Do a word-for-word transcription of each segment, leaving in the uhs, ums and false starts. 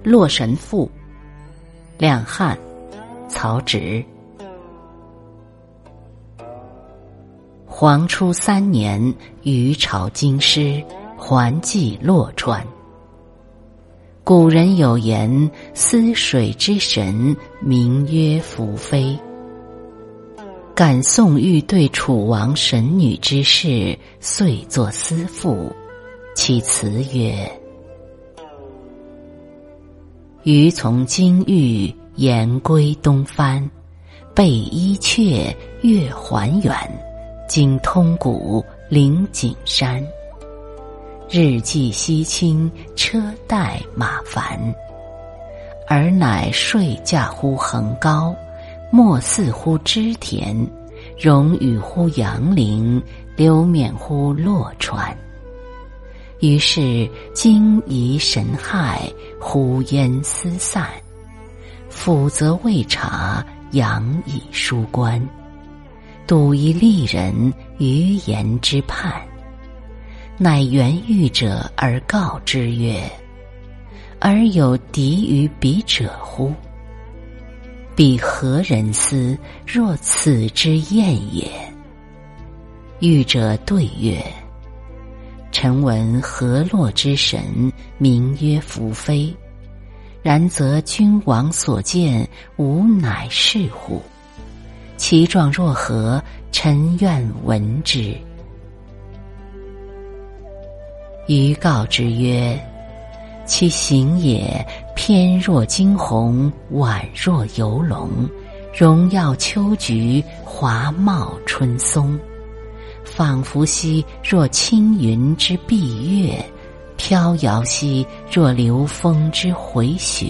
洛神赋》，两汉，曹植。黄初三年，余朝京师，还寄洛川。古人有言，思水之神，名曰宓妃。感宋玉对楚王神女之事，遂作思赋，其词曰：余从京域，言归东藩，备伊阙，越还远，经通谷，临景山。日既西倾，车带马烦，尔乃睡驾乎横高，莫似乎织田，容羽乎杨陵，流冕乎洛川。于是惊疑神骇，呼烟思散，抚则未察，仰以书观，睹一丽人，于言之畔。乃原遇者而告之曰：而有敌于彼者乎？彼何人思，若此之燕也？遇者对曰：臣闻河洛之神，名曰宓妃，然则君王所见，吾乃是乎？其状若何？臣愿闻之。余告之曰：其形也，翩若惊鸿，宛若游龙，荣耀秋菊，华茂春松，仿佛兮若青云之蔽月，飘摇兮若流风之回雪。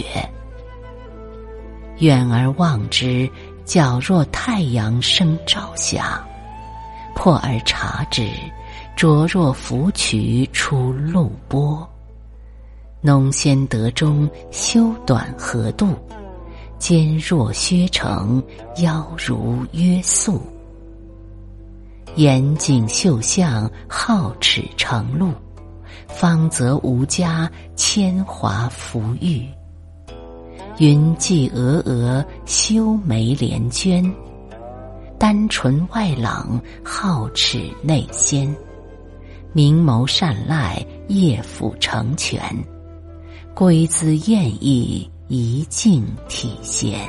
远而望之，皎若太阳生朝霞；破而察之，灼若芙蕖出露波。浓鲜得中，修短合度，肩若削成，腰如约素。严谨秀相，皓齿成露，芳泽无加，铅华浮玉。云髻峨峨，修眉连娟，丹唇外朗，皓齿内鲜。明眸善睐，业辅成全，归姿艳逸，仪静体闲。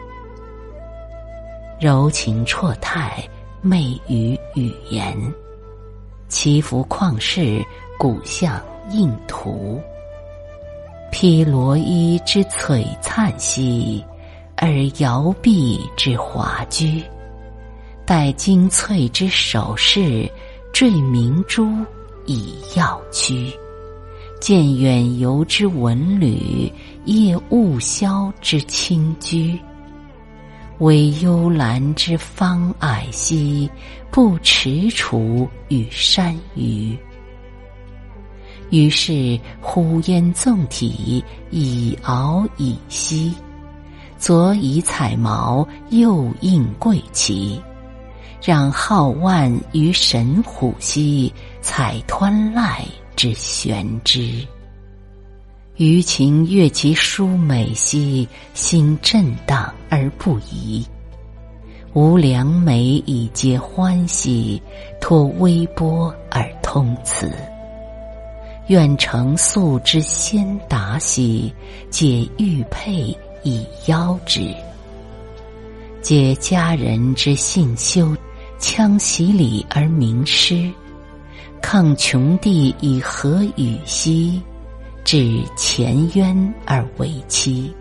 柔情绰态，媚于语言，其服旷世，骨相应图。披罗衣之璀璨兮，而摇臂之华居。戴精粹之首饰，缀明珠以耀躯。见远游之文旅，谒雾霄之清居。惟幽兰之芳霭兮，不踟蹰与山隅。于是呼烟纵体，以敖以兮。左以彩毛，右应桂旗。让皓腕于神虎兮，采湍籁之玄之。余情悦其殊美兮，心震荡而不移。吾良美以皆欢喜，托微波而通辞。愿成素之先达兮，解玉佩以邀之。解佳人之信修，羌袭礼而名师。抗穷地以和语兮，至前渊而为期。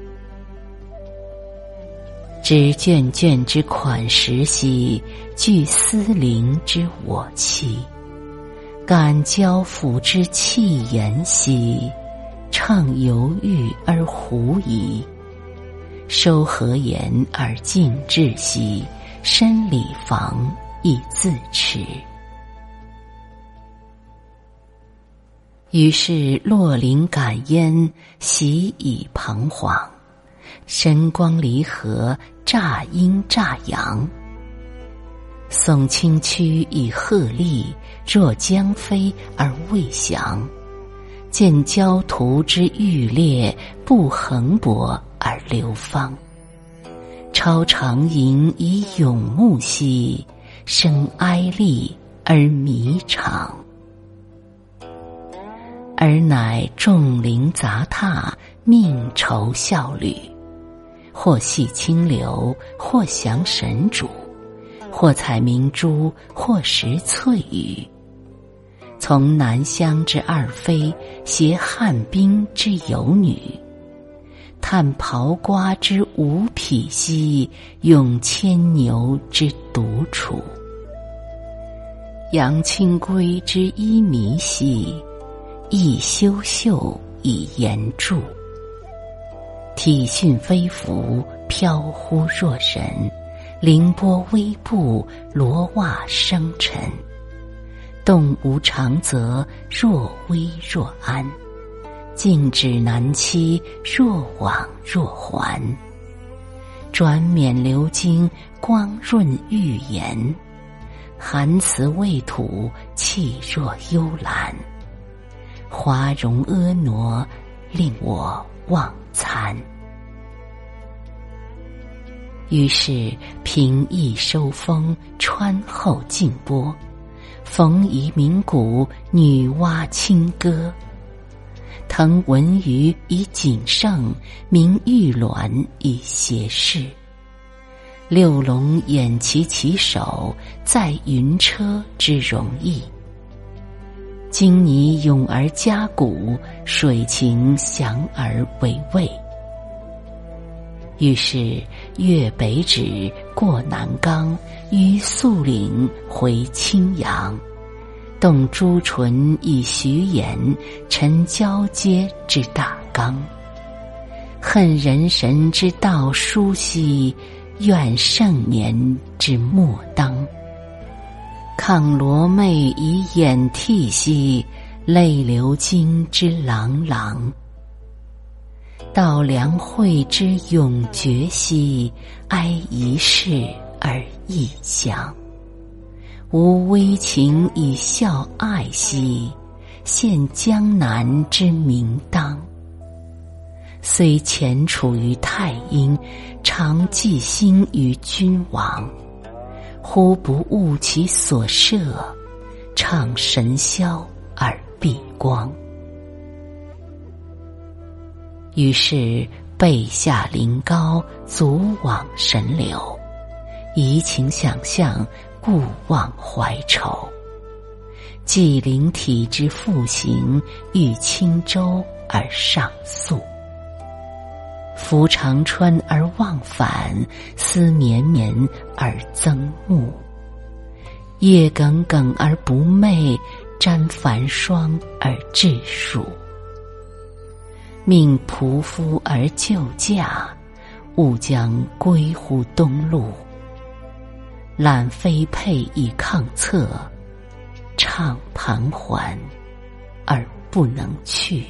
知卷卷之款识兮，具丝灵之我妻。感交付之气言兮，畅犹豫而狐疑。收和言而静志兮，深理防以自持。于是落林感烟，习以彷徨。神光离合，乍阴乍阳。耸清曲以鹤唳，若将飞而未降。 见焦土之欲裂，不横勃而流芳。超长吟以咏木兮，生哀厉而弥长。尔乃众灵杂沓，命酬效履，或系清流，或降神主，或采明珠，或食翠羽。从南乡之二妃，携汉滨之游女，探刨瓜之无匹兮，用牵牛之独处。扬清规之衣靡兮，亦修袖以言注。体训飞服，飘忽若神，凌波微步，罗袜生尘。动无常则，若危若安；静止难期，若往若还。转冕流金，光润玉颜；含辞未吐，气若幽兰。华容婀娜，令我忘餐。于是平易收风，川后静波。逢夷鸣鼓，女娲清歌。腾文娱以景盛，明玉鸾以谐事。六龙偃旗其首，在云车之容易。今拟咏而嘉鼓，水情祥而为味。于是越北指，过南冈，于肃岭回青阳。动朱唇以徐言，陈交阶之大纲。恨人神之道殊兮，怨盛年之末当。抗罗袂以掩涕兮，泪流金之朗朗。悼梁惠之永绝兮，哀一世而异乡。无微情以孝爱兮，献江南之明当。虽潜处于太阴，常寄心于君王。忽不悟其所摄，唱神霄而避光。于是背下临高，足往神流。移情想象，故忘怀愁。既灵体之复行，欲轻舟而上溯。扶长川而忘返，思绵绵而增暮。夜耿耿而不寐，沾繁霜而致暑。命仆夫而就驾，勿将归乎东路。揽飞佩以抗策，怅盘桓而不能去。